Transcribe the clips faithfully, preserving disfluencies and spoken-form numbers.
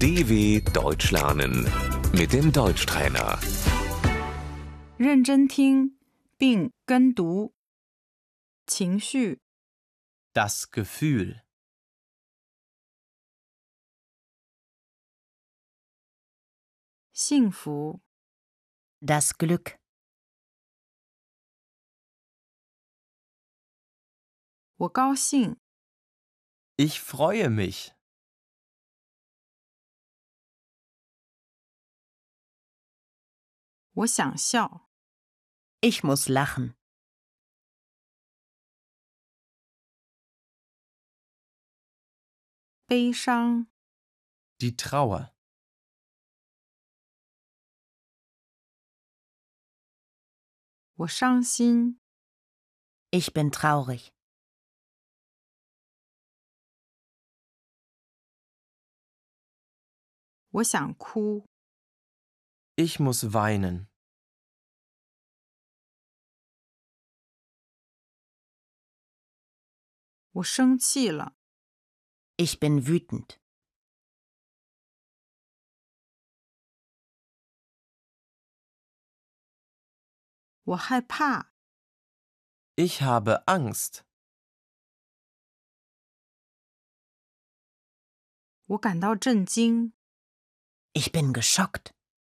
D W Deutsch lernen mit dem Deutschtrainer. 认真听并跟读。情绪、 Das Gefühl. 幸福、 Das Glück. 我高兴、 Ich freue mich. 我想笑、 Ich muss lachen. 悲伤、 Die Trauer. 我伤心、 Ich bin traurig. 我想哭、 Ich muss weinen. 我生气了、 Ich bin wütend. 我害怕、 Ich habe Angst. 我感到震惊、 Ich bin geschockt.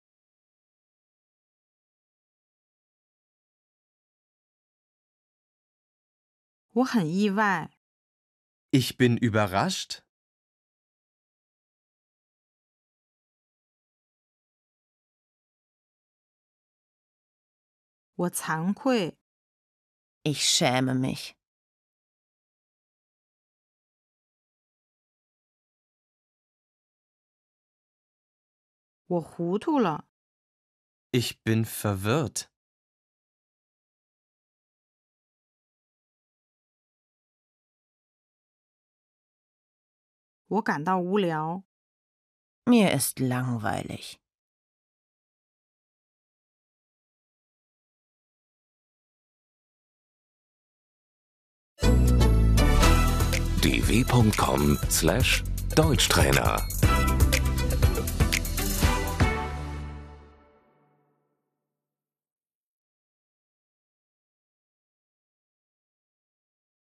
我很意外、 Ich bin überrascht. 我惭愧、 Ich schäme mich. 我糊涂了、 Ich bin verwirrt. 我感到无聊。 Mir ist langweilig. d w punkt com slash Deutschtrainer